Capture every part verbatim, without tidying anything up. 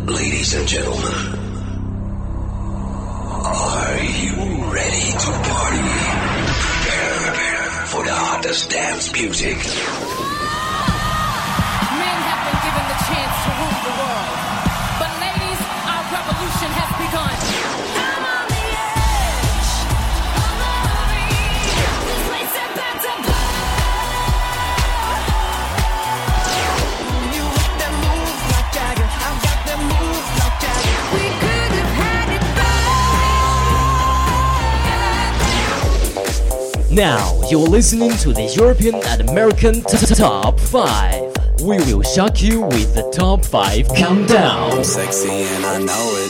Ladies and gentlemen, are you ready to party? Prepare for the hottest dance music. Men have been given the chance to rule the world. But ladies, our revolution has begun. I'm on the edge of the arena. This place is about to blow. You got that move like Jagger. I got that move like Jagger. We could have had it better. Now you're listening to the European and American t- Top five. We will shock you with the Top five Countdown. I'm sexy and I know it.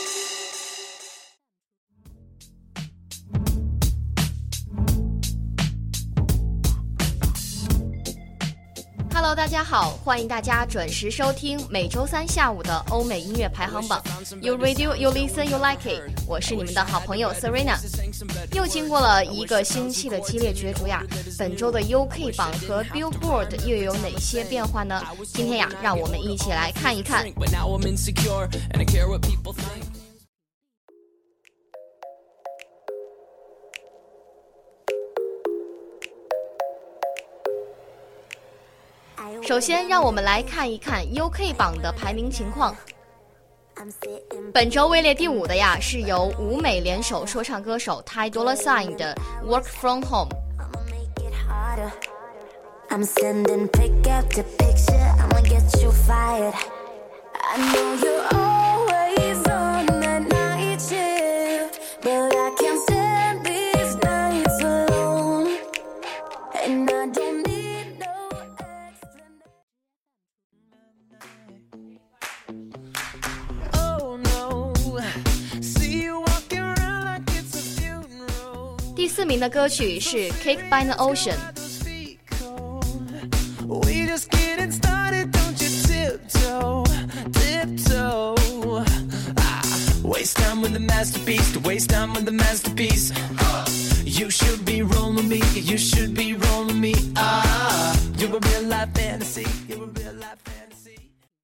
Hello， 大家好，欢迎大家准时收听每周三下午的欧美音乐排行榜。You radio, you listen, you like it。我是你们的好朋友 Serena。又经过了一个星期的激烈角逐呀，本周的 U K 榜和 Billboard 又有哪些变化呢？今天呀，让我们一起来看一看。首先让我们来看一看 U K 榜的排名情况。本周位列第五的呀，是由舞美联手说唱歌手 Ty Dolla Sign 的 Work From Home。 I'm sending pick after picture, I'ma get you fired. I know you're always on that night shift, but I can't stand these nights alone, and I don't need no explanation. Oh no, see you walking around like it's a funeral. 第四名的歌曲是 Cake by the Ocean。 We just getting started, don't you tiptoe, tiptoe. Ah, waste time with the masterpiece, to waste time with the masterpiece. You should be rolling me, you should be rolling me. Ah, you're a real life fantasy, you're a real life fantasy.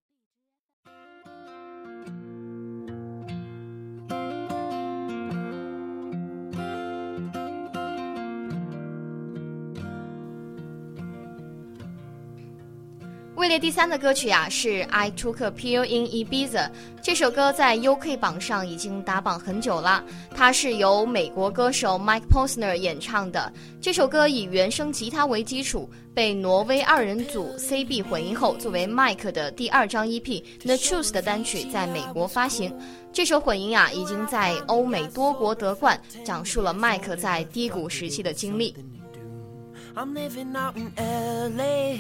位列第三的歌曲呀、啊、是 I Took a Pill in Ibiza。 这首歌在 U K 榜上已经打榜很久了，它是由美国歌手 Mike Posner 演唱的。这首歌以原声吉他为基础，被挪威二人组 C B 混音后，作为 Mike 的第二张 E P The Truth 的单曲在美国发行。这首混音啊已经在欧美多国得冠，讲述了 Mike 在低谷时期的经历。 I'm living out in L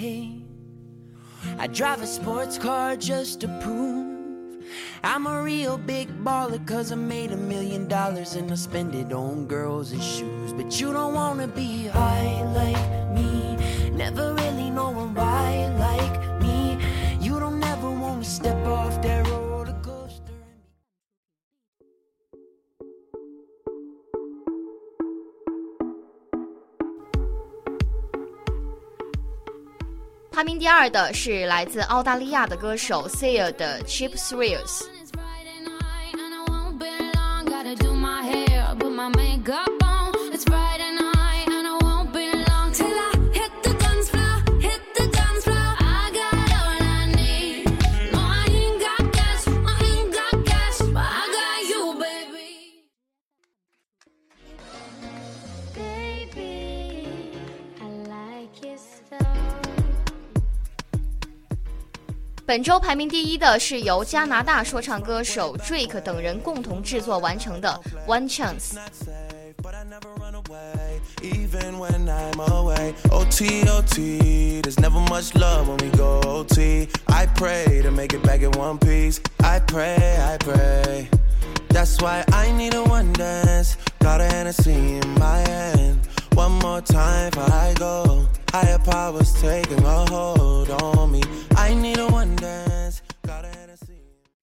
A.I drive a sports car just to prove I'm a real big baller, cause I made a million dollars and I spend it on girls and shoes. But you don't wanna be high like me, never really knowing why like me. You don't ever wanna step off that roller coaster. 排名第二的是来自澳大利亚的歌手 Sia 的 Cheap Thrills。 本周排名第一的是由加拿大说唱歌手 Drake 等人共同制作完成的 One Chance。 Even when I'm away, O T O T, there's never much love when we go O T. I pray to make it back in one piece. I pray, I pray. That's why I need a one dance. Got a Hennessy in my hand. One more time before I go. Higher powers taking a hold on me. I need a one dance. Got a Hennessy.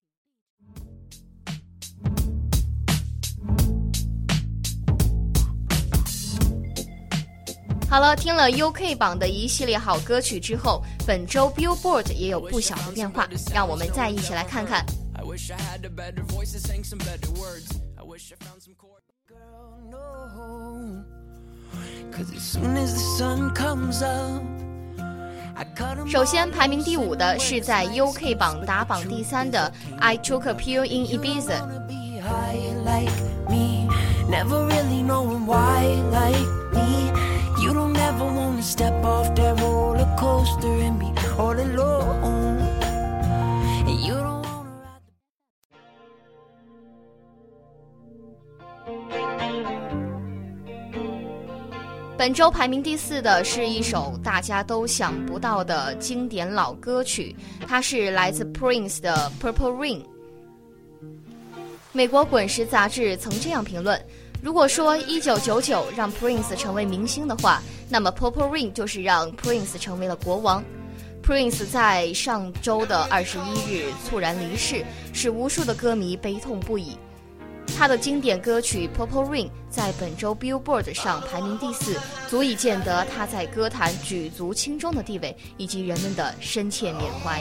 好了，听了 U K 榜的一系列好歌曲之后，本周 Billboard 也有不小的变化，让我们再一起来看看。 wish I had a better voice and sang some better words. I wish I found some chords. Girl, no. Cause as soon as the sun comes up. 首先排名第五的是在 U K 榜打榜第三的 I Took a Pill in Ibiza。 Never really knowing why like me. You don't ever wanna step off that roller coaster and be all alone. And you don't wanna ride the... 本周排名第四的是一首大家都想不到的经典老歌曲，它是来自 Prince 的 Purple Rain。 美国滚石杂志曾这样评论，如果说一九九九让 Prince 成为明星的话，那么 Purple Rain 就是让 Prince 成为了国王。 Prince 在上周的二十一日猝然离世，使无数的歌迷悲痛不已。他的经典歌曲 Purple Rain 在本周 Billboard 上排名第四，足以见得他在歌坛举足轻重的地位以及人们的深切缅怀。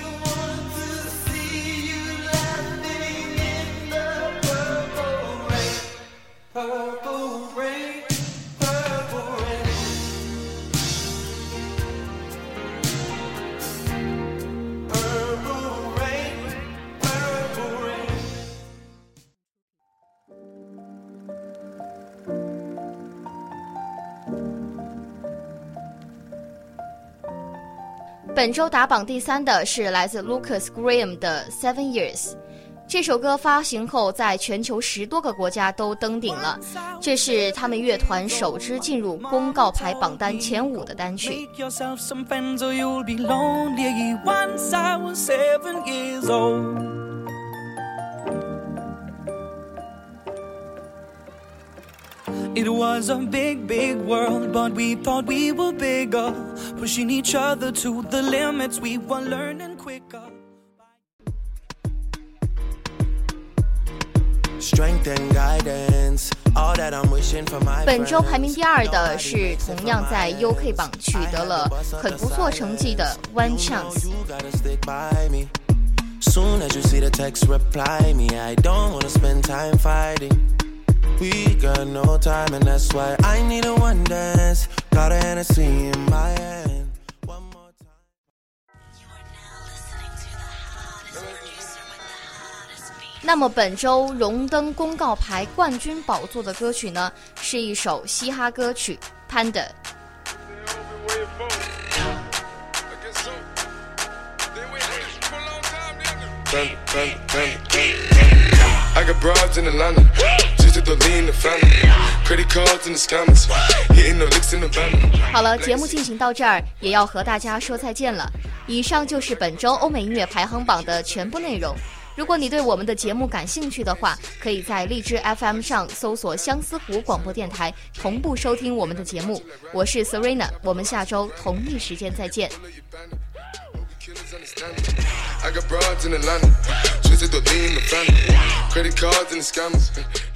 本周打榜第三的是来自 Lucas Graham 的 Seven Years。 这首歌发行后在全球十多个国家都登顶了，这是他们乐团首支进入公告牌榜单前五的单曲。 It was a big, big world, but we thought we were bigger, pushing each other to the limits, we were learning quicker. Strength and guidance, all that I'm wishing for my friends. 本周排名第二的是同样在 U K 榜取得了很不错成绩的 One Chance。 Soon as you see the text, reply me. I don't wanna spend time fighting.We got no time and that's why I need a one dance. Got a Hennessy in my hand. One more time. You are now listening to the hottest producer with the hottest beat. 那么本周荣登公告牌冠军宝座的歌曲呢，是一首嘻哈歌曲 Panda。 I got broads in Atlanta. 好了，节目进行到这儿，也要和大家说再见了。以上就是本周欧美音乐排行榜的全部内容。如果你对我们的节目感兴趣的话，可以在荔枝 F M 上搜索相思湖广播电台，同步收听我们的节目。我是 Serena， 我们下周同一时间再见。 I got broads in Atlanta, twisted the lean, the family, credit cards and the scammers.